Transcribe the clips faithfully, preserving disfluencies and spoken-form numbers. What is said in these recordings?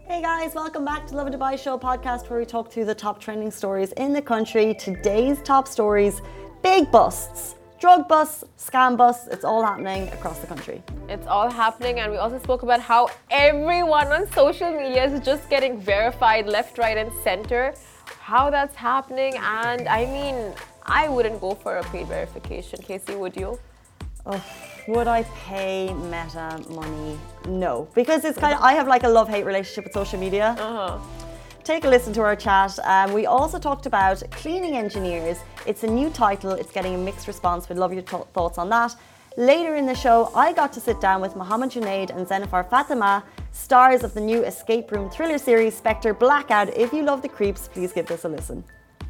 Hey guys, welcome back to Lovin Dubai Show podcast where we talk through the top trending stories in the country. Today's top stories, big busts, drug busts, scam busts, it's all happening across the country. It's all happening, and we also spoke about how everyone on social media is just getting verified left, right and center. How that's happening, and I mean, I wouldn't go for a paid verification. Casey, would you? Oh, would I pay Meta money? No, because it's kind of, I have like a love-hate relationship with social media. Uh-huh. Take a listen to our chat. Um, we also talked about cleaning engineers. It's a new title. It's getting a mixed response. We'd love your th- thoughts on that. Later in the show, I got to sit down with Mohammed Junaid and Zenifar Fatima, stars of the new escape room thriller series Spectre Blackout. If you love the creeps, please give this a listen.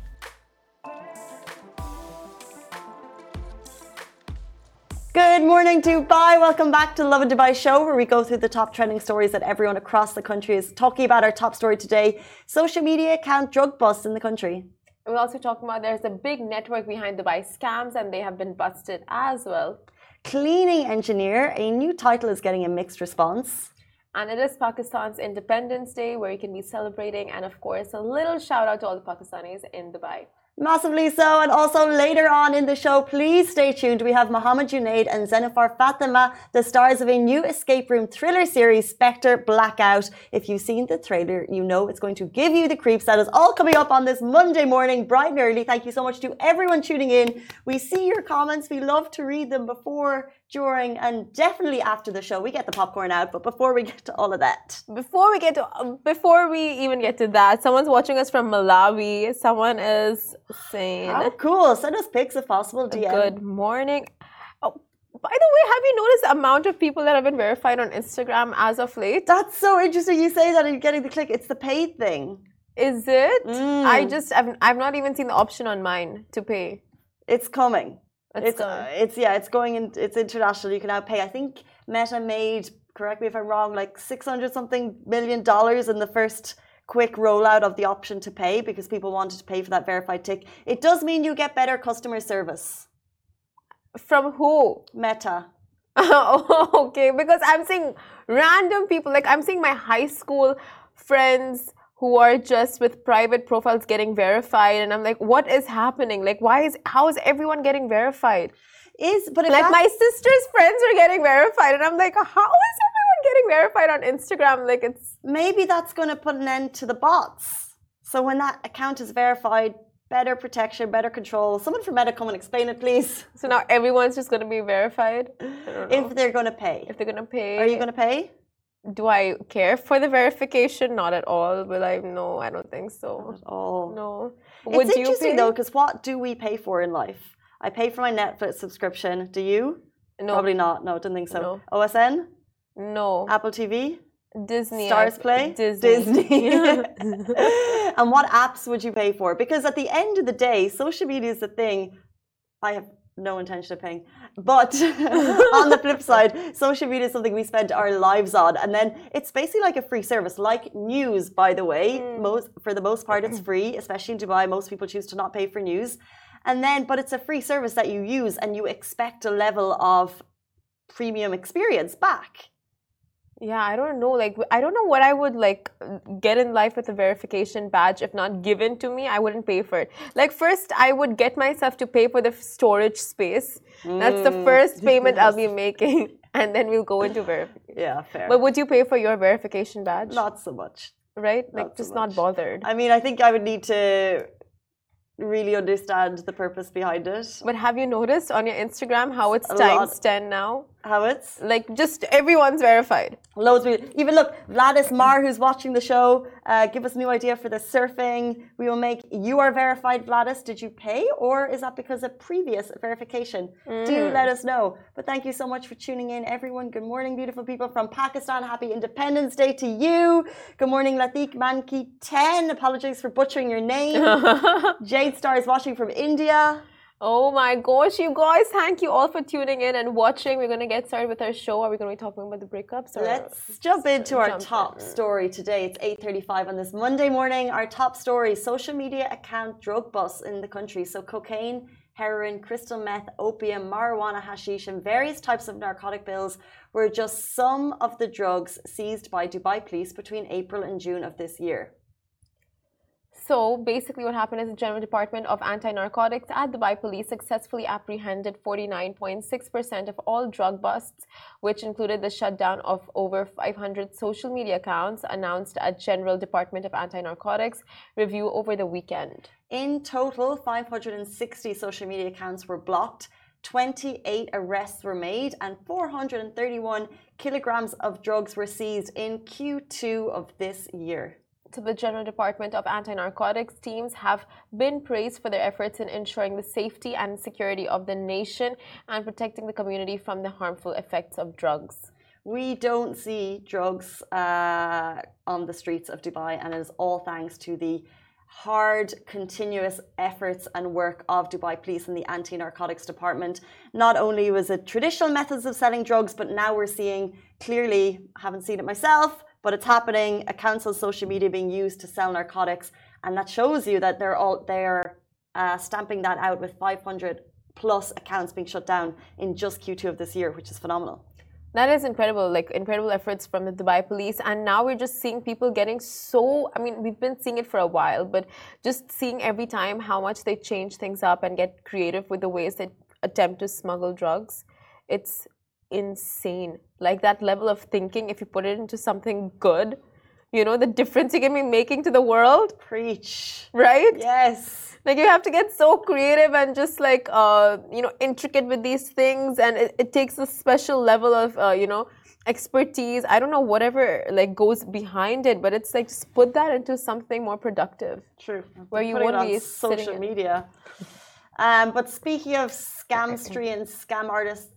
Good morning, Dubai. Welcome back to Lovin Dubai Show, where we go through the top trending stories that everyone across the country is talking about. Our top story today, social media account drug busts in the country. We're also talking about there's a big network behind Dubai scams, and they have been busted as well. Cleaning engineer, a new title is getting a mixed response. And it is Pakistan's Independence Day, where you can be celebrating, and of course, a little shout out to all the Pakistanis in Dubai. Massively so, and also later on in the show, please stay tuned. We have Mohammed Junaid and Zenifar Fatima, the stars of a new escape room thriller series, Spectre Blackout. If you've seen the trailer, you know it's going to give you the creeps. That is all coming up on this Monday morning, bright and early. Thank you so much to everyone tuning in. We see your comments. We love to read them before, during, and definitely after the show. We get the popcorn out, but before we get to all of that. Before we get to, before we even get to that, someone's watching us from Malawi. Someone is saying, how cool. Send us pics if possible. D M. Good morning. Oh, by the way, have you noticed the amount of people that have been verified on Instagram as of late? That's so interesting. You say that and you're getting the click. It's the paid thing. Is it? Mm. I just, I've, I've not even seen the option on mine to pay. It's coming. It's, it's, uh, it's yeah, it's going in. It's international. You can now pay. I think Meta made, correct me if I'm wrong, like six hundred something million dollars in the first quick rollout of the option to pay because people wanted to pay for that verified tick. It does mean you get better customer service. From who? Meta. Oh, okay, because I'm seeing random people. Like I'm seeing my high school friends who are just with private profiles getting verified, and I'm like, what is happening? Like, why is how is everyone getting verified? Is but if like my sister's friends are getting verified, and I'm like, how is everyone getting verified on Instagram? Like, it's maybe that's going to put an end to the bots. So when that account is verified, better protection, better control. Someone from Meta come and explain it, please. So now everyone's just going to be verified. I don't know. If they're going to pay. If they're going to pay. Are you going to pay? Do I care for the verification? Not at all. Will I? No, I don't think so. Not at all. No. Would it's interesting you though, because what do we pay for in life? I pay for my Netflix subscription. Do you? No. Probably not. No, didn't think so. No. O S N? No. Apple T V? Disney. Stars I, Play? Disney. Disney. And what apps would you pay for? Because at the end of the day, social media is the thing. I have no intention of paying. But on the flip side, social media is something we spend our lives on. And then it's basically like a free service, like news, by the way. Mm. Most, for the most part, it's free, especially in Dubai. Most people choose to not pay for news. And then, but it's a free service that you use and you expect a level of premium experience back. Yeah, I don't know. Like, I don't know what I would like get in life with a verification badge if not given to me. I wouldn't pay for it. Like, first, I would get myself to pay for the storage space. Mm. That's the first payment I'll be making, and then we'll go into verification. Yeah, fair. But would you pay for your verification badge? Not so much. Right? Like, not just so not bothered. I mean, I think I would need to really understand the purpose behind it. But have you noticed on your Instagram how it's times ten now? How it's? Like, just everyone's verified. Loads of people. Even look, Vladis Mar, who's watching the show, uh, give us a new idea for the surfing. We will make, you are verified, Vladis. Did you pay? Or is that because of previous verification? Mm. Do let us know. But thank you so much for tuning in, everyone. Good morning, beautiful people from Pakistan. Happy Independence Day to you. Good morning, Latik Manki ten. Apologies for butchering your name. Jade Star is watching from India. Oh my gosh, you guys, thank you all for tuning in and watching. We're going to get started with our show. Are we going to be talking about the breakups? Or Let's jump into our jump top in. story today. It's eight thirty-five on this Monday morning. Our top story, social media account drug bust in the country. So cocaine, heroin, crystal meth, opium, marijuana, hashish, and various types of narcotic pills were just some of the drugs seized by Dubai police between April and June of this year. So basically what happened is the General Department of Anti-Narcotics at Dubai Police successfully apprehended forty-nine point six percent of all drug busts, which included the shutdown of over five hundred social media accounts announced at General Department of Anti-Narcotics review over the weekend. In total, five hundred sixty social media accounts were blocked, twenty-eight arrests were made, and four hundred thirty-one kilograms of drugs were seized in Q two of this year. To the General Department of Anti-Narcotics, teams have been praised for their efforts in ensuring the safety and security of the nation and protecting the community from the harmful effects of drugs. We don't see drugs uh, on the streets of Dubai, and it is all thanks to the hard, continuous efforts and work of Dubai Police and the Anti-Narcotics Department. Not only was it traditional methods of selling drugs, but now we're seeing clearly, haven't seen it myself, but it's happening, accounts on social media being used to sell narcotics, and that shows you that they're all they're uh, stamping that out with five hundred plus accounts being shut down in just Q two of this year, which is phenomenal. That is incredible, like incredible efforts from the Dubai Police, and now we're just seeing people getting so, I mean, we've been seeing it for a while, but just seeing every time how much they change things up and get creative with the ways they attempt to smuggle drugs. It's insane. Like that level of thinking, if you put it into something good, you know, the difference you can be making to the world. Preach. Right? Yes. Like you have to get so creative and just like, uh, you know, intricate with these things. And it, it takes a special level of, uh, you know, expertise. I don't know, whatever like goes behind it, but it's like just put that into something more productive. True. Where you won't be social media. Um, but speaking of scamstry and scam artists,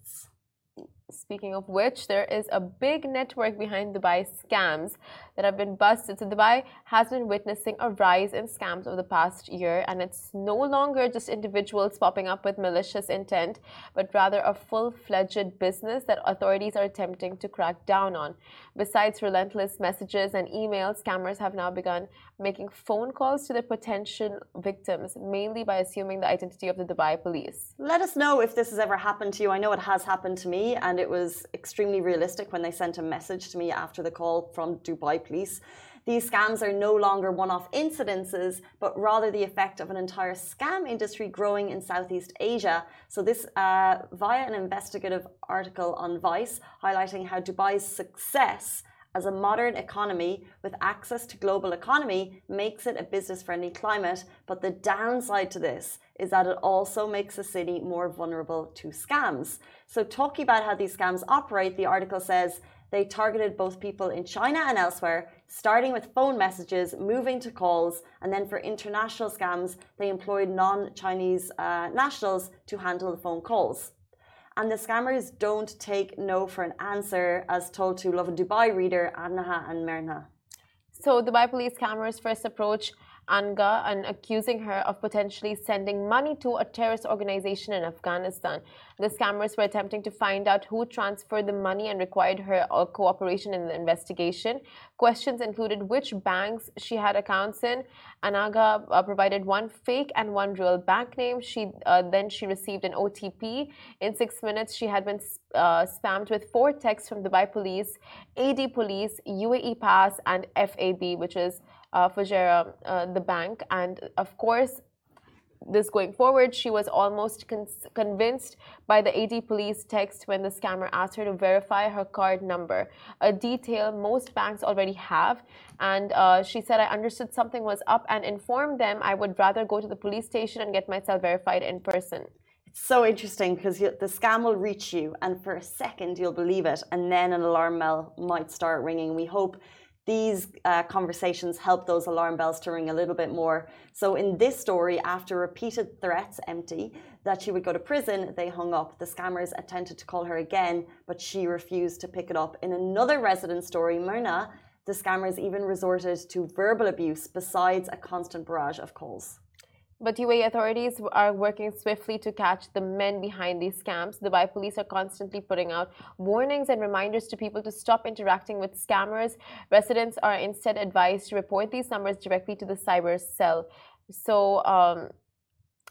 speaking of which, there is a big network behind Dubai scams that have been busted. So Dubai has been witnessing a rise in scams over the past year, and it's no longer just individuals popping up with malicious intent, but rather a full-fledged business that authorities are attempting to crack down on. Besides relentless messages and emails, scammers have now begun making phone calls to their potential victims, mainly by assuming the identity of the Dubai police. Let us know if this has ever happened to you. I know it has happened to me, and it was extremely realistic when they sent a message to me after the call from Dubai police. These scams are no longer one-off incidences, but rather the effect of an entire scam industry growing in Southeast Asia. So this uh, via an investigative article on Vice highlighting how Dubai's success as a modern economy with access to global economy makes it a business-friendly climate, but the downside to this is that it also makes the city more vulnerable to scams. So talking about how these scams operate, the article says they targeted both people in China and elsewhere, starting with phone messages, moving to calls, and then for international scams, they employed non-Chinese uh, nationals to handle the phone calls. And the scammers don't take no for an answer, as told to Lovin Dubai reader Adnaha and Merna. So Dubai police scammers first approach Anga and accusing her of potentially sending money to a terrorist organization in Afghanistan. The scammers were attempting to find out who transferred the money and required her uh, cooperation in the investigation. Questions included which banks she had accounts in. Anaga uh, provided one fake and one real bank name. She uh, then she received an O T P. In six minutes, she had been uh, spammed with four texts from Dubai Police, A D Police, U A E Pass, and F A B, which is uh, Fujairah, uh, the bank. And of course, this going forward, she was almost con convinced by the A D police text when the scammer asked her to verify her card number, a detail most banks already have. And uh, she said, I understood something was up and informed them I would rather go to the police station and get myself verified in person. It's so interesting because the scam will reach you, and for a second you'll believe it, and then an alarm bell might start ringing. We hope these uh, conversations help those alarm bells to ring a little bit more. So in this story, after repeated threats empty that she would go to prison, they hung up. The scammers attempted to call her again, but she refused to pick it up. In another resident story, Myrna, the scammers even resorted to verbal abuse besides a constant barrage of calls. But U A E authorities are working swiftly to catch the men behind these scams. Dubai police are constantly putting out warnings and reminders to people to stop interacting with scammers. Residents are instead advised to report these numbers directly to the cyber cell. So, um,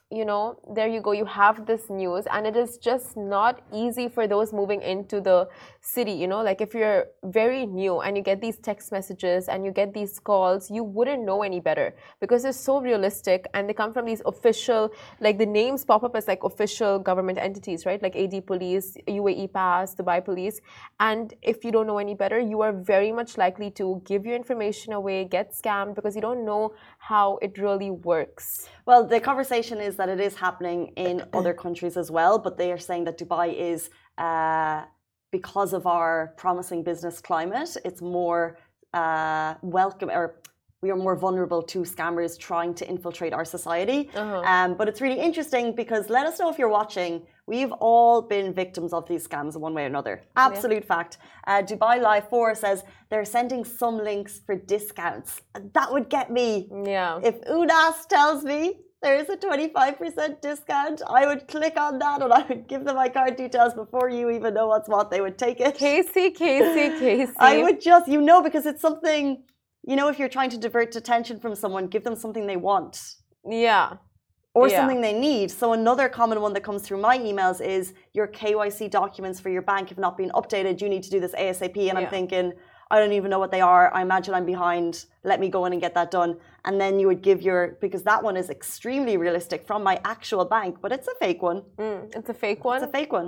you know, there you go, you have this news, and it is just not easy for those moving into the city, you know, like if you're very new and you get these text messages and you get these calls, you wouldn't know any better because they're so realistic and they come from these official, like the names pop up as like official government entities, right? Like A D Police, U A E Pass, Dubai Police. And if you don't know any better, you are very much likely to give your information away, get scammed because you don't know how it really works. Well, the conversation is that it is happening in other countries as well, but they are saying that Dubai is, uh, because of our promising business climate, it's more uh, welcome, or we are more vulnerable to scammers trying to infiltrate our society. Uh-huh. Um, but it's really interesting because let us know if you're watching. We've all been victims of these scams in one way or another. Absolute yeah. fact. Uh, Dubai Live four says they're sending some links for discounts. That would get me. Yeah. If Unas tells me there is a twenty-five percent discount, I would click on that and I would give them my card details before you even know what's what. They would take it. Casey, Casey, Casey. I would just, you know, because it's something, you know, if you're trying to divert attention from someone, give them something they want. Yeah. Or yeah. something they need. So another common one that comes through my emails is your K Y C documents for your bank have not been updated. You need to do this ASAP. And yeah. I'm thinking, I don't even know what they are. I imagine I'm behind. Let me go in and get that done. And then you would give your, because that one is extremely realistic from my actual bank, but it's a fake one. Mm, it's a fake one? It's a fake one.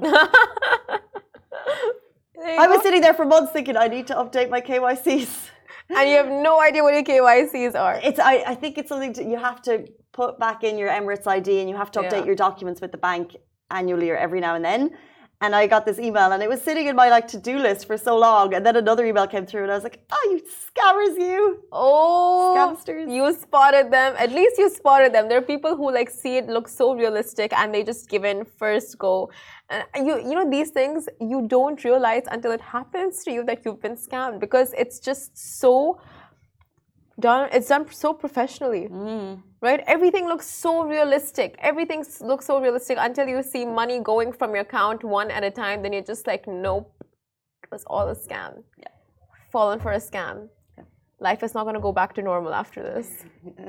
I was sitting there for months thinking I need to update my K Y Cs. And you have no idea what your K Y Cs are. It's I, I think it's something to, you have to put back in your Emirates I D and you have to update yeah. your documents with the bank annually or every now and then. And I got this email and it was sitting in my like to-do list for so long. And then another email came through and I was like, oh, you scammers, you. Oh, Scamsters. You spotted them. At least you spotted them. There are people who like see it look so realistic and they just give in first go. And you, you know, these things you don't realize until it happens to you that you've been scammed because it's just so done. It's done so professionally. Mm. Right? Everything looks so realistic. Everything looks so realistic until you see money going from your account one at a time. Then you're just like, nope, it was all a scam. Yeah. Fallen for a scam. Yeah. Life is not going to go back to normal after this.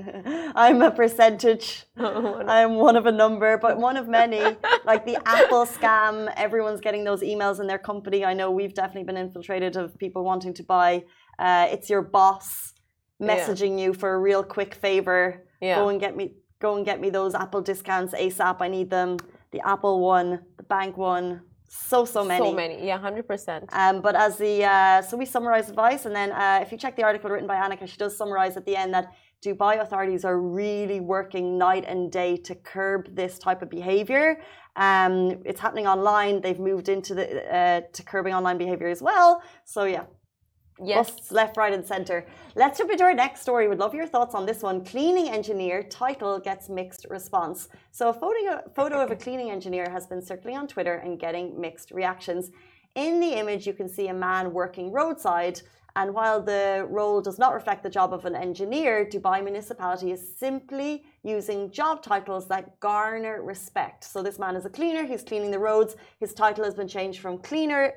I'm a percentage. I'm one of a number, but one of many. Like the Apple scam, everyone's getting those emails in their company. I know we've definitely been infiltrated of people wanting to buy. Uh, it's your boss messaging yeah. you for a real quick favor. Yeah. Go and get me go and get me those Apple discounts ASAP. I need them. The Apple one, the bank one, so so many. So many, yeah, one hundred percent. Um, but as the uh, so we summarize advice, and then uh, if you check the article written by Annika, she does summarize at the end that Dubai authorities are really working night and day to curb this type of behavior. Um, it's happening online. They've moved into the uh, to curbing online behavior as well. So yeah. Yes. Busts left, right, and center. Let's jump into our next story. We'd love your thoughts on this one. Cleaning engineer title gets mixed response. So a photo, a photo of a cleaning engineer has been circulating on Twitter and getting mixed reactions. In the image, you can see a man working roadside. And while the role does not reflect the job of an engineer, Dubai municipality is simply using job titles that garner respect. So this man is a cleaner. He's cleaning the roads. His title has been changed from cleaner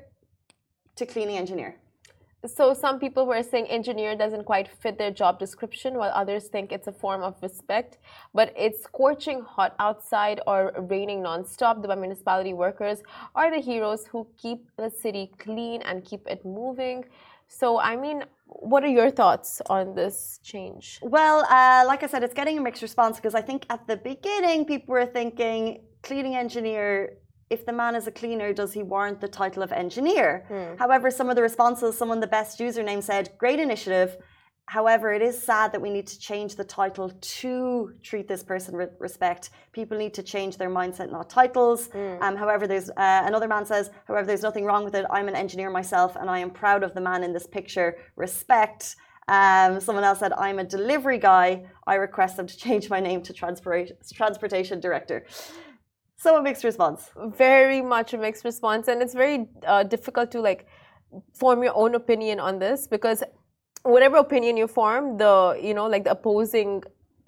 to cleaning engineer. So some people were saying engineer doesn't quite fit their job description, while others think it's a form of respect. But it's scorching hot outside or raining non-stop. The municipality workers are the heroes who keep the city clean and keep it moving. So, I mean, what are your thoughts on this change? Well, uh, like I said, it's getting a mixed response because I think at the beginning people were thinking cleaning engineer. If the man is a cleaner, does he warrant the title of engineer? Hmm. However, some of the responses, someone the best username said, great initiative. However, it is sad that we need to change the title to treat this person with respect. People need to change their mindset, not titles. Hmm. Um, however, there's uh, another man says, however, there's nothing wrong with it. I'm an engineer myself, and I am proud of the man in this picture. Respect. Um, someone else said, I'm a delivery guy. I request them to change my name to transport transportation director. So a mixed response. Very much a mixed response. And it's very uh, difficult to like form your own opinion on this because whatever opinion you form, the, you know, like the opposing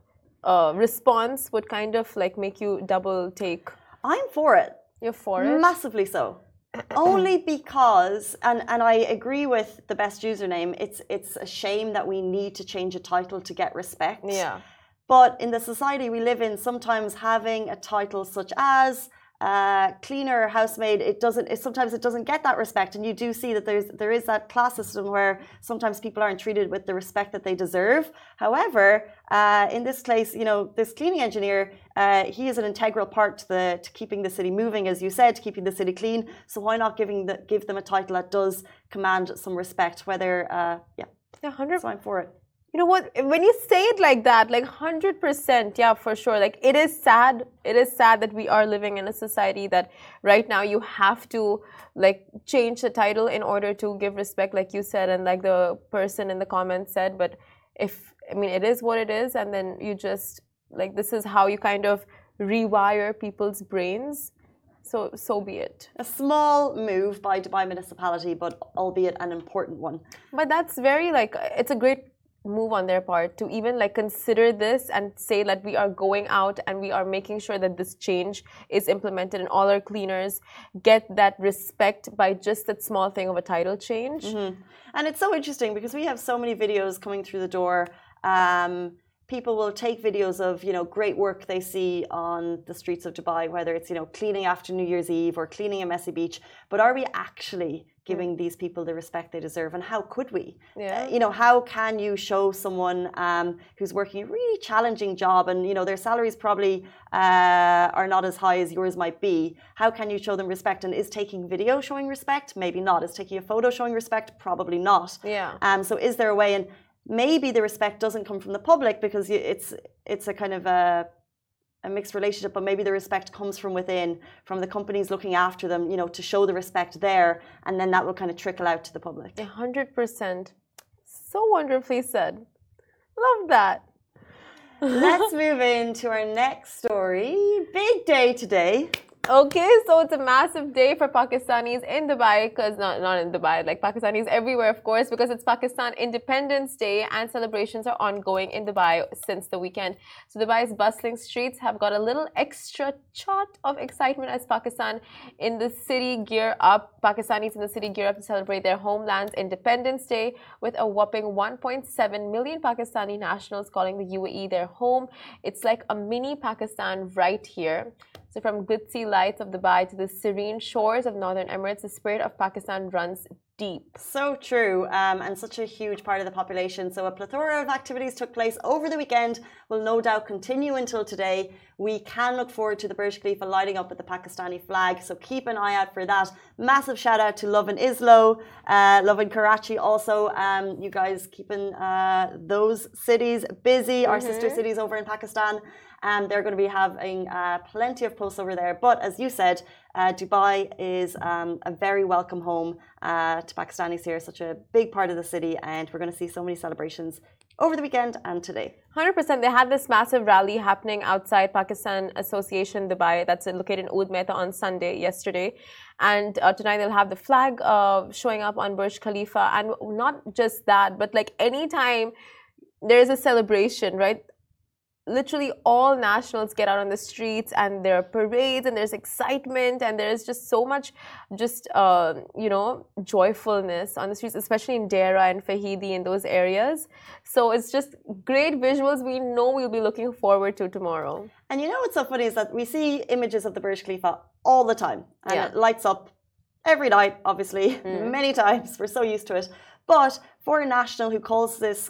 uh, response would kind of like make you double take. I'm for it. You're for it? Massively so. Only because, and, and I agree with the best username, it's, it's a shame that we need to change a title to get respect. Yeah. But in the society we live in, sometimes having a title such as uh, cleaner, housemaid, it doesn't. It, sometimes it doesn't get that respect, and you do see that there's there is that class system where sometimes people aren't treated with the respect that they deserve. However, uh, in this case, you know, this cleaning engineer, uh, he is an integral part to the to keeping the city moving, as you said, to keeping the city clean. So why not giving the give them a title that does command some respect? Whether, uh, yeah, yeah, hundred. So I'm for it. You know what? When you say it like that, like one hundred percent, yeah, for sure. Like, it is sad. It is sad that we are living in a society that right now you have to, like, change the title in order to give respect, like you said, and like the person in the comments said. But if, I mean, it is what it is, and then you just, like, this is how you kind of rewire people's brains. So, so be it. A small move by Dubai municipality, but albeit an important one. But that's very, like, it's a great move on their part to even like consider this and say that we are going out and we are making sure that this change is implemented and all our cleaners get that respect by just that small thing of a title change. Mm-hmm. And it's so interesting because we have so many videos coming through the door. Um, people will take videos of, you know, great work they see on the streets of Dubai, whether it's, you know, cleaning after New Year's Eve or cleaning a messy beach. But are we actually giving these people the respect they deserve, and how could we? Yeah. Uh, you know, how can you show someone um, who's working a really challenging job, and you know their salaries probably uh, are not as high as yours might be? How can you show them respect? And is taking video showing respect? Maybe not. Is taking a photo showing respect? Probably not. Yeah. Um. So is there a way? And maybe the respect doesn't come from the public because it's it's a kind of a a mixed relationship, but maybe the respect comes from within, from the companies looking after them, you know, to show the respect there, and then that will kind of trickle out to the public. A hundred percent. So wonderfully said. Love that. Let's move into our next story. Big day today. Okay, so it's a massive day for Pakistanis in Dubai, because not, not in Dubai, like Pakistanis everywhere, of course, because it's Pakistan Independence Day and celebrations are ongoing in Dubai since the weekend. So Dubai's bustling streets have got a little extra shot of excitement as Pakistan in the city gear up. Pakistanis in the city gear up to celebrate their homeland's Independence Day with a whopping one point seven million Pakistani nationals calling the U A E their home. It's like a mini Pakistan right here. So from glitzy lights of Dubai to the serene shores of Northern Emirates, the spirit of Pakistan runs deep. So true, um, and such a huge part of the population. So a plethora of activities took place over the weekend, will no doubt continue until today. We can look forward to the Burj Khalifa lighting up with the Pakistani flag, so keep an eye out for that. Massive shout out to Lovin Islo, uh, Lovin Karachi also. Um, you guys keeping uh, those cities busy, our mm-hmm. sister cities over in Pakistan. Um, they're going to be having uh, plenty of posts over there. But as you said, uh, Dubai is um, a very welcome home uh, to Pakistanis here, such a big part of the city, and we're going to see so many celebrations over the weekend and today. one hundred percent. They had this massive rally happening outside Pakistan Association Dubai that's located in Oud Mehta on Sunday, yesterday. And uh, tonight they'll have the flag uh, showing up on Burj Khalifa. And not just that, but like anytime there is a celebration, right? Literally all nationals get out on the streets and there are parades and there's excitement and there's just so much just, uh, you know, joyfulness on the streets, especially in Deira and Fahidi in those areas. So it's just great visuals we know we'll be looking forward to tomorrow. And you know what's so funny is that we see images of the Burj Khalifa all the time and yeah. it lights up every night, obviously, mm. many times. We're so used to it. But for a national who calls this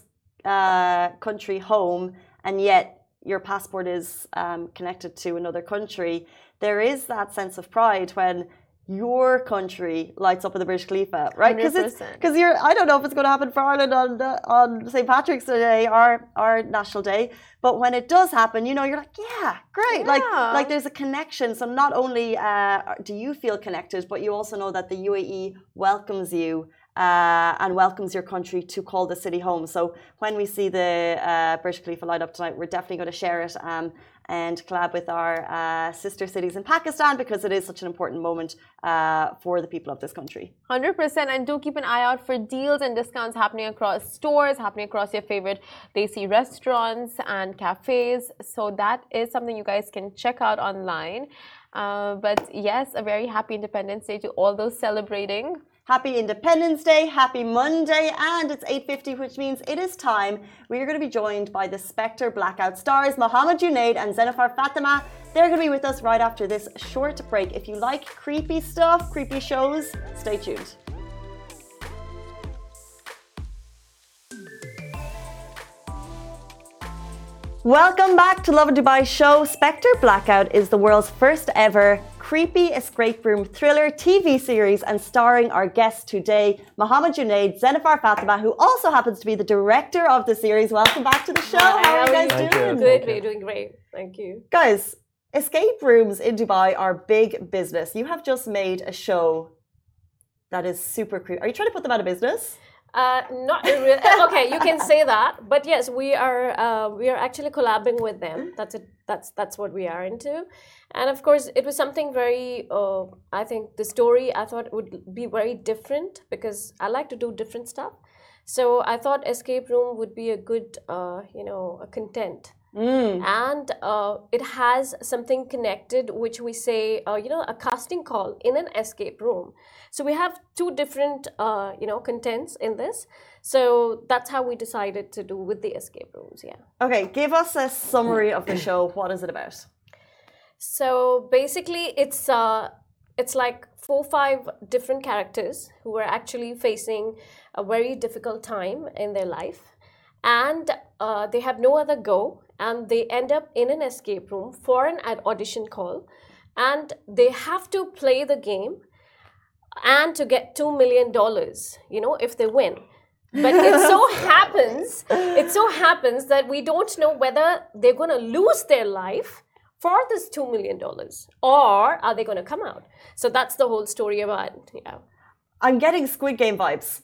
uh, country home and yet your passport is um, connected to another country, there is that sense of pride when your country lights up in the Burj Khalifa, right? Because it's because you're. I don't know if it's going to happen for Ireland on the, on Saint Patrick's Day, our our national day, but when it does happen, you know, you're like, yeah, great. Yeah. Like like there's a connection. So not only uh, do you feel connected, but you also know that the U A E welcomes you. Uh, and welcomes your country to call the city home. So when we see the uh, Burj Khalifa light up tonight, we're definitely going to share it um, and collab with our uh, sister cities in Pakistan because it is such an important moment uh, for the people of this country. one hundred percent. And do keep an eye out for deals and discounts happening across stores, happening across your favorite Desi restaurants and cafes. So that is something you guys can check out online. Uh, but yes, a very happy Independence Day to all those celebrating. Happy Independence Day, happy Monday, and it's eight fifty, which means it is time. We are going to be joined by the Spectre Blackout stars, Mohammed Junaid and Zenifar Fatima. They're going to be with us right after this short break. If you like creepy stuff, creepy shows, stay tuned. Welcome back to Lovin Dubai show. Spectre Blackout is the world's first ever creepy escape room thriller T V series, and starring our guest today, Mohammed Junaid, Zenifar Fatima, who also happens to be the director of the series. Welcome back to the show. Hi, how are you guys Thank doing? You. Good, we're doing great. Thank you. Guys, escape rooms in Dubai are big business. You have just made a show that is super creepy. Are you trying to put them out of business? Uh, not really. Okay, you can say that, but yes, we are. Uh, we are actually collabing with them. That's it. That's that's what we are into, and of course, it was something very. Uh, I think the story I thought would be very different because I like to do different stuff. So I thought escape room would be a good, uh, you know, a content. Mm. And uh, it has something connected, which we say, uh, you know, a casting call in an escape room. So we have two different, uh, you know, contents in this. So that's how we decided to do with the escape rooms. Yeah. Okay, give us a summary of the show. What is it about? So basically, it's uh, it's like four, five different characters who are actually facing a very difficult time in their life, and uh, they have no other go. And they end up in an escape room for an audition call, and they have to play the game and to get two million dollars, you know, if they win. But it so happens, it so happens that we don't know whether they're going to lose their life for this two million dollars or are they going to come out. So that's the whole story about it. Yeah. I'm getting Squid Game vibes.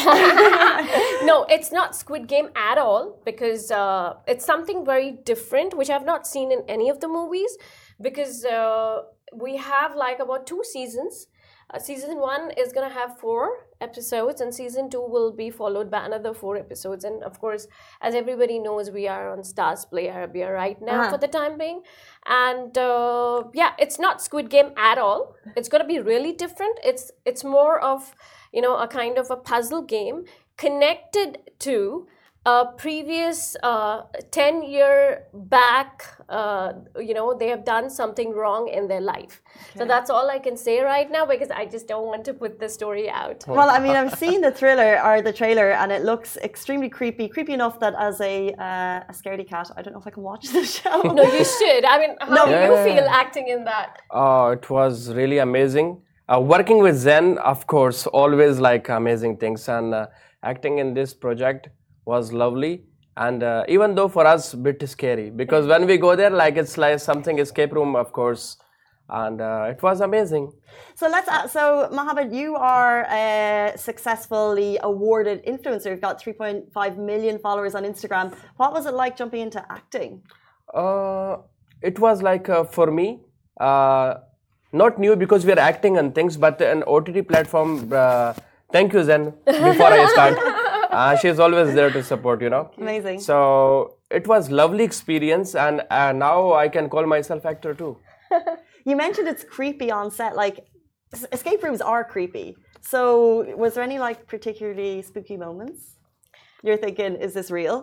No, it's not Squid Game at all, because uh, it's something very different, which I've not seen in any of the movies, because uh, we have like about two seasons. Uh, season one is going to have four episodes, and season two will be followed by another four episodes. And of course, as everybody knows, we are on Stars Play Arabia right now uh-huh. for the time being. And uh, yeah, it's not Squid Game at all. It's going to be really different. It's it's more of, you know, a kind of a puzzle game connected to a previous uh, ten year back, uh, you know, they have done something wrong in their life. Okay. So that's all I can say right now, because I just don't want to put the story out. Well, I mean, I've seen the thriller or the trailer, and it looks extremely creepy, creepy enough that as a uh, a scaredy cat, I don't know if I can watch the show. No, you should. I mean, how no. do you feel acting in that? Oh, it was really amazing. Uh, working with Zen, of course, always like amazing things, and uh, acting in this project was lovely. And uh, even though for us, a bit scary, because when we go there, like it's like something escape room, of course, and uh, it was amazing. So let's. Uh, so Mohammed, you are a successfully awarded influencer. You've got three point five million followers on Instagram. What was it like jumping into acting? Uh, it was like uh, for me. Uh, Not new, because we are acting on things, but an O T T platform. Uh, thank you, Zen. Before I start, uh, she's always there to support. You know. Amazing. So it was lovely experience, and uh, now I can call myself actor too. You mentioned it's creepy on set. Like, escape rooms are creepy. So was there any like particularly spooky moments? You're thinking, is this real?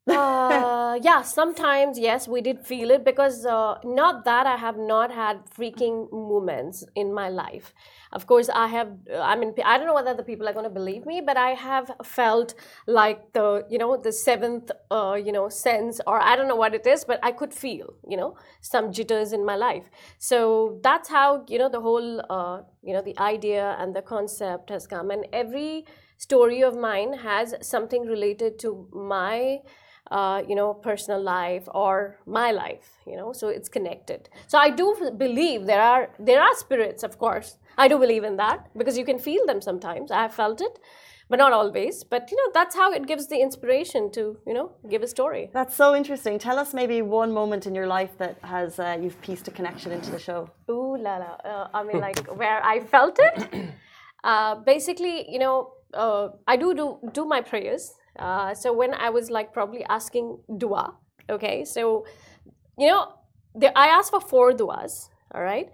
uh, yeah, sometimes, yes, we did feel it, because uh, not that I have not had freaking moments in my life. Of course, I have, I mean, I don't know whether the people are going to believe me, but I have felt like the, you know, the seventh, uh, you know, sense, or I don't know what it is, but I could feel, you know, some jitters in my life. So that's how, you know, the whole, uh, you know, the idea and the concept has come. And every story of mine has something related to my Uh, you know, personal life or my life, you know, so it's connected. So I do believe there are there are spirits, of course. I do believe in that, because you can feel them sometimes. I have felt it, but not always. But, you know, that's how it gives the inspiration to, you know, give a story. That's so interesting. Tell us maybe one moment in your life that has, uh, you've pieced a connection into the show. Ooh la la. Uh, I mean, like, where I felt it. Uh, basically, you know, uh, I do, do do my prayers. Uh, so when I was like probably asking dua, okay, so, you know, there, I asked for four duas, all right,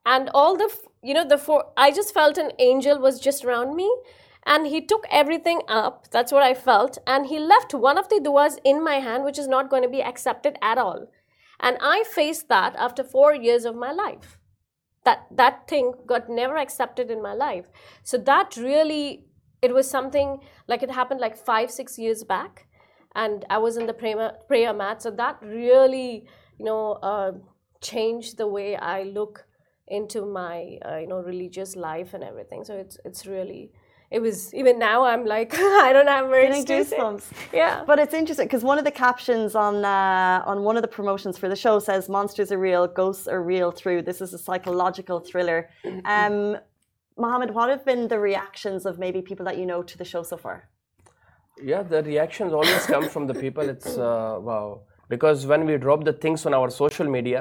and all the f- you know the four, I just felt an angel was just around me, and he took everything up. That's what I felt, and he left one of the duas in my hand, which is not going to be accepted at all. And I faced that after four years of my life. That that thing got never accepted in my life. So that really, it was something like it happened like five six years back, and I was in the prayer, prayer mat. So that really, you know, uh, changed the way I look into my uh, you know religious life and everything. So it's it's really, it was, even now I'm like I don't have words Getting to say. goosebumps. Yeah. But it's interesting because one of the captions on uh, on one of the promotions for the show says monsters are real, ghosts are real through. This is a psychological thriller. Um, Mohammed, what have been the reactions of maybe people that you know to the show so far? Yeah, the reactions always come from the people. It's uh, wow, because when we drop the things on our social media,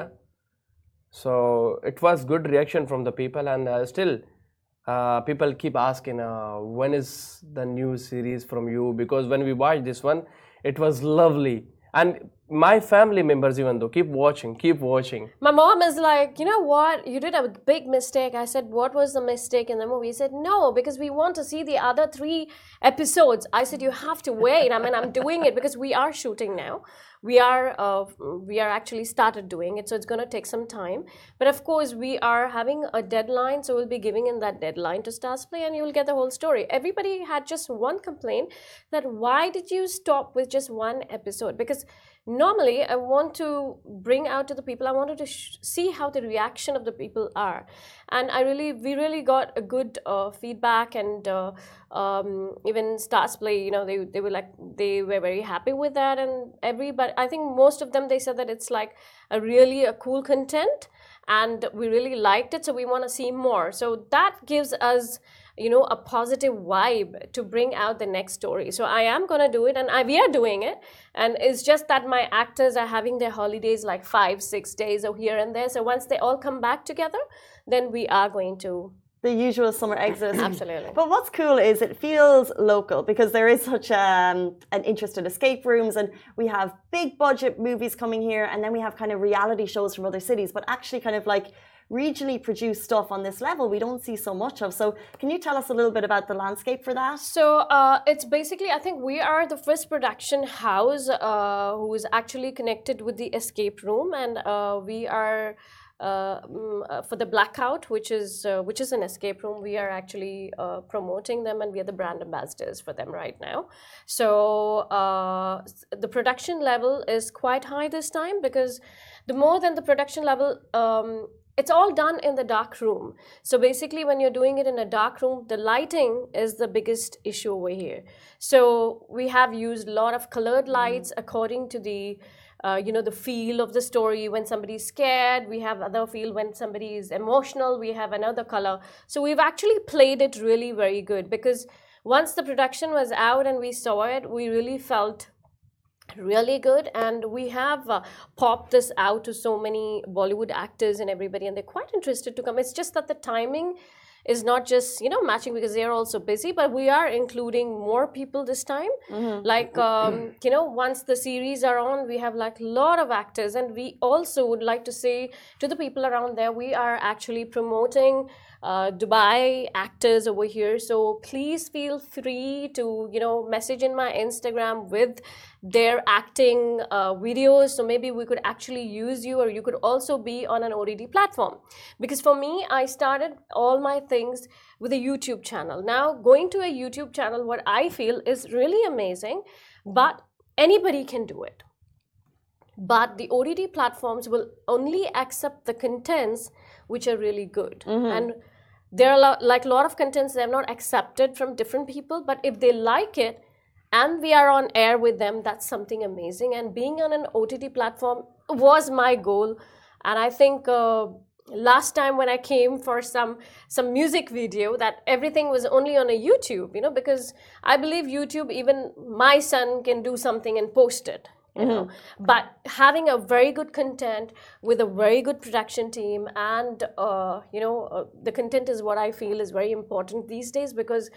so it was good reaction from the people, and uh, still uh, people keep asking uh, when is the new series from you, because when we watched this one, it was lovely. And my family members even though keep watching, keep watching. My mom is like, you know what, you did a big mistake. I said, what was the mistake in the movie? He said, no, because we want to see the other three episodes. I said, you have to wait. I mean, I'm doing it because we are shooting now. We are uh, we are actually started doing it, so it's going to take some time. But of course, we are having a deadline, so we'll be giving in that deadline to Starzplay, and you'll get the whole story. Everybody had just one complaint, that why did you stop with just one episode? Because normally I want to bring out to the people, I wanted to sh- see how the reaction of the people are, and I really we really got a good uh, feedback, and uh, um, even Starzplay, you know, they they were like, they were very happy with that, and everybody, I think most of them, they said that it's like a really a cool content, and we really liked it, so we want to see more. So that gives us, you know, a positive vibe to bring out the next story. So I am going to do it, and I, we are doing it. And it's just that my actors are having their holidays like five, six days or here and there. So once they all come back together, then we are going to. The usual summer exodus. Absolutely. But what's cool is it feels local because there is such um, an interest in escape rooms, and we have big budget movies coming here, and then we have kind of reality shows from other cities, but actually kind of like regionally produced stuff on this level we don't see so much of. So can you tell us a little bit about the landscape for that? So uh, it's basically, I think we are the first production house uh, who is actually connected with the escape room, and uh, we are uh, mm, for the Blackout, which is uh, which is an escape room. We are actually uh, promoting them, and we are the brand ambassadors for them right now. So uh, the production level is quite high this time, because the more than the production level, um, it's all done in the dark room. So basically, when you're doing it in a dark room, the lighting is the biggest issue over here. So we have used a lot of colored lights mm-hmm. according to the Uh, you know, the feel of the story. When somebody's scared, we have other feel. When somebody is emotional, we have another color. So we've actually played it really very good, because once the production was out and we saw it, we really felt really good, and we have uh, popped this out to so many Bollywood actors and everybody, and they're quite interested to come. It's just that the timing is not just, you know, matching, because they're also busy, but we are including more people this time. Mm-hmm. Like, um, you know, once the series are on, we have like a lot of actors, and we also would like to say to the people around there, we are actually promoting uh, Dubai actors over here. So please feel free to, you know, message in my Instagram with their acting uh, videos. So maybe we could actually use you, or you could also be on an O T T platform. Because for me, I started all my things with a YouTube channel. Now, going to a YouTube channel, what I feel is really amazing, but anybody can do it. But the O T T platforms will only accept the contents which are really good. Mm-hmm. And there are lo- like a lot of contents that are not accepted from different people, but if they like it, and we are on air with them, that's something amazing. And being on an O T T platform was my goal. And I think uh, last time when I came for some some music video, that everything was only on a YouTube, you know, because I believe YouTube, even my son can do something and post it. You know, mm-hmm. But having a very good content with a very good production team, and uh, you know, uh, the content is what I feel is very important these days, because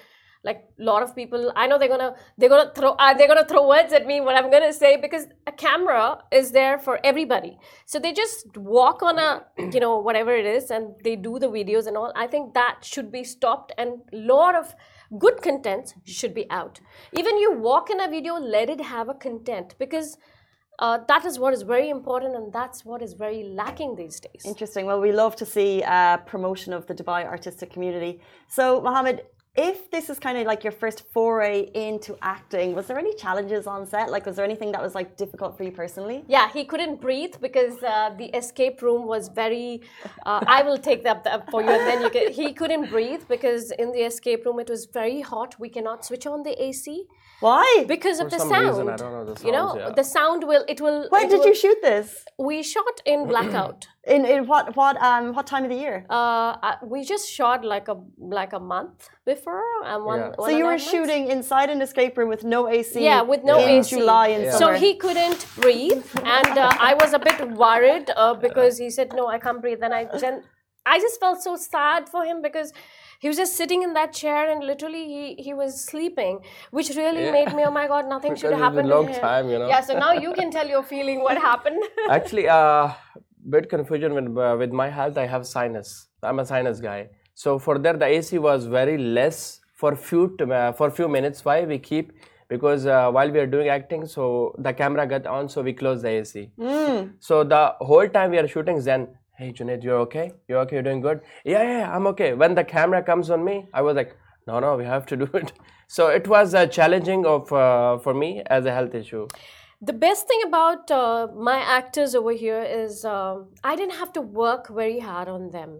Like a lot of people, I know they're gonna they're gonna throw uh, they're gonna throw words at me what I'm gonna say, because a camera is there for everybody. So they just walk on a you know whatever it is and they do the videos and all. I think that should be stopped, and a lot of good content should be out. Even you walk in a video, let it have a content, because uh, that is what is very important, and that's what is very lacking these days. Interesting. Well, we love to see uh, promotion of the Dubai artistic community. So, Mohammed, if this is kind of like your first foray into acting, was there any challenges on set? Like, was there anything that was like difficult for you personally? Yeah, he couldn't breathe because uh, the escape room was very. Uh, I will take that up for you, and then you can. He couldn't breathe because in the escape room it was very hot. We cannot switch on the A C. Why? Because For of the some sound. reason, I don't know the You know, sounds, yeah. the sound will. It will. When it did will- you shoot this? We shot in blackout. In in what what um what time of the year? Uh, uh, we just shot like a like a month before, and one. Yeah. one So you and a were half months. shooting inside an escape room with no A C. Yeah, with no in A C. July and Yeah. So summer. he couldn't breathe, and uh, I was a bit worried uh, because he said, "No, I can't breathe." Then I then I just felt so sad for him because he was just sitting in that chair and literally he he was sleeping, which really Yeah. made me, oh my God, nothing Because should it's happen been to long him. time, you know. Yeah, so now you can tell your feeling what happened. Actually, uh, bit confusion with uh, with my health. I have sinus. I'm a sinus guy. So for that, the A C was very less for few t- uh, for few minutes. Why we keep? Because uh, while we are doing acting, so the camera got on, so we close the A C. So the whole time we are shooting, Zen, hey Junaid, you're okay? You're okay? You're doing good? Yeah, yeah, yeah, I'm okay. When the camera comes on me, I was like, no, no, we have to do it. So it was uh, challenging of uh, for me as a health issue. The best thing about uh, my actors over here is um, I didn't have to work very hard on them.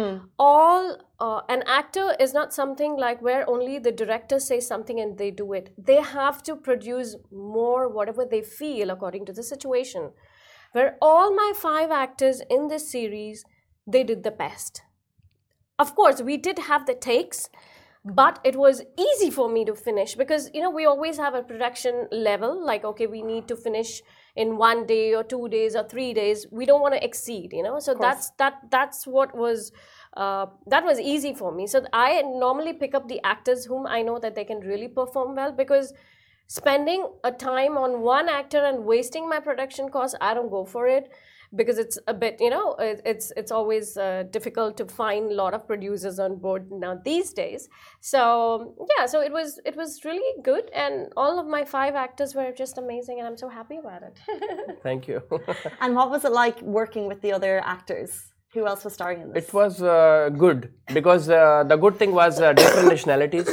All uh, an actor is not something like where only the director says something and they do it. They have to produce more whatever they feel according to the situation. Where all my five actors in this series, they did the best. Of course, we did have the takes, but it was easy for me to finish because, you know, we always have a production level, like, okay, we need to finish in one day or two days or three days. We don't want to exceed, you know, so that's that that's what was uh, that was easy for me. So I normally pick up the actors whom I know that they can really perform well, because spending a time on one actor and wasting my production costs, I don't go for it. Because it's a bit, you know, it, it's it's always uh, difficult to find a lot of producers on board now these days. So yeah, so it was it was really good, and all of my five actors were just amazing, and I'm so happy about it. Thank you. And what was it like working with the other actors? Who else was starring in this? It was uh, good because uh, the good thing was uh, different nationalities.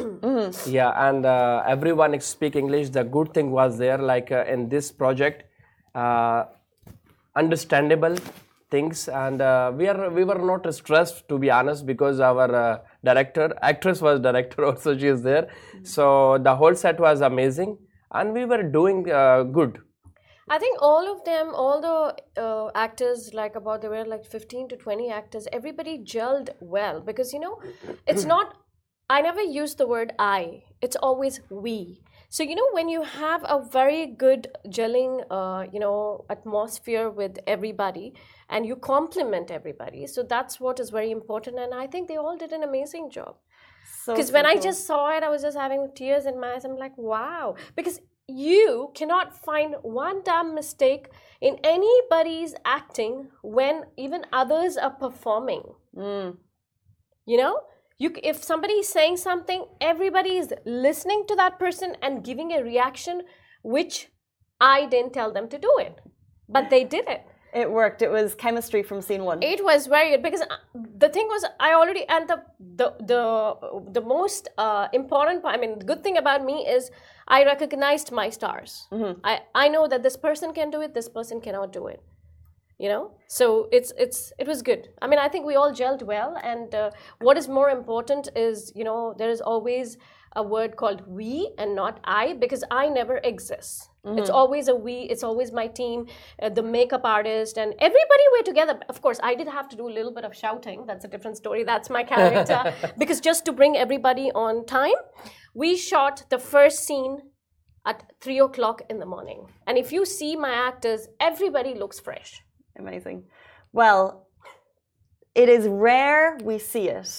Yeah, and uh, everyone speak English. The good thing was there, like uh, in this project, uh, understandable things, and uh, we are we were not stressed, to be honest, because our uh, director, actress was director also. She is there, so the whole set was amazing, and we were doing uh, good. I think all of them, all the uh, actors, like about there were like fifteen to twenty actors, everybody gelled well, because, you know, it's not, I never use the word I, it's always we. So, you know, when you have a very good gelling, uh, you know, atmosphere with everybody and you compliment everybody, so that's what is very important. And I think they all did an amazing job. So Because when I simple. just saw it, I was just having tears in my eyes. I'm like, wow. Because you cannot find one damn mistake in anybody's acting when even others are performing. Mm. You know? You, if somebody is saying something, everybody is listening to that person and giving a reaction, which I didn't tell them to do it. But they did it. It worked. It was chemistry from scene one. It was very good because the thing was, I already, and the the the, the most uh, important part, I mean, the good thing about me is I recognized my stars. Mm-hmm. I, I know that this person can do it, this person cannot do it. You know, so it's it's it was good. I mean, I think we all gelled well, and uh, what is more important is, you know, there is always a word called we and not I, because I never exist. Mm-hmm. It's always a we. It's always my team, uh, the makeup artist, and everybody were together. Of course, I did have to do a little bit of shouting. That's a different story. That's my character. Because just to bring everybody on time, we shot the first scene at three o'clock in the morning, and if you see my actors, everybody looks fresh. Amazing. Well, it is rare we see it.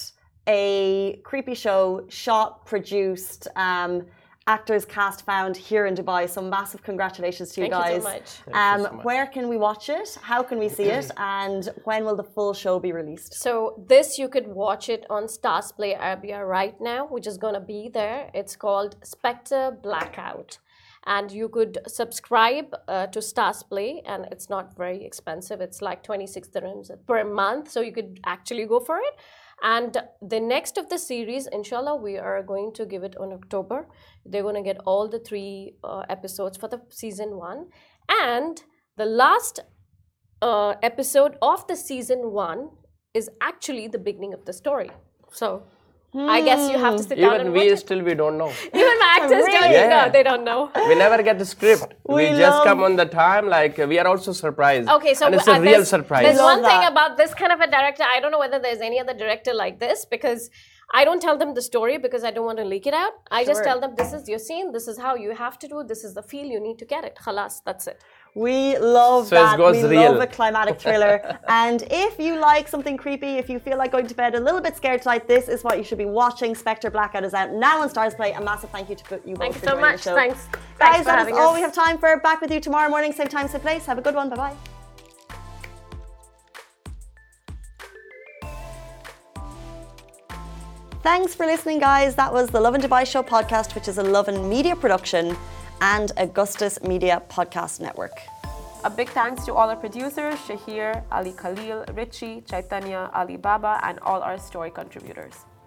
a creepy show, shot, produced, um, actors cast found here in Dubai. So massive congratulations to you Thank guys. you so much. Thank Um, you so much. Where can we watch it? How can we see it? And when will the full show be released? So this you could watch it on Stars Play Arabia right now, which is gonna be there. It's called Spectre Blackout. And you could subscribe uh, to Stars Play, and it's not very expensive. It's like twenty-six dirhams per month, so you could actually go for it. And the next of the series, inshallah, we are going to give it on October. They're going to get all the three uh, episodes for the season one. And the last uh, episode of the season one is actually the beginning of the story. So I guess you have to sit down Even and we watch it. still we don't know. Even my actors don't Really? even know. Yeah. They don't know. We never get the script. We We, just love- come on the time. Like we are also surprised. Okay, so and it's uh, a real there's, surprise. There's Love one thing that. about this kind of a director. I don't know whether there's any other director like this, because I don't tell them the story because I don't want to leak it out. I just Sure. tell them this is your scene, this is how you have to do, this is the feel you need to get it. Khalas, that's it. We love So it that. goes we real. love a climatic thriller. And if you like something creepy, if you feel like going to bed a little bit scared tonight, this is what you should be watching. Spectre Blackout is out now on Stars Play. A massive thank you to you both Thank you for so joining much. the show. Thanks. Guys, Thanks for that is having all us. we have time for. Back with you tomorrow morning, same time, same place. Have a good one. Bye bye. Thanks for listening, guys. That was the Love and Dubai Show podcast, which is a Love and Media production and Augustus Media Podcast Network. A big thanks to all our producers, Shahir, Ali Khalil, Richie, Chaitanya, Ali Baba, and all our story contributors.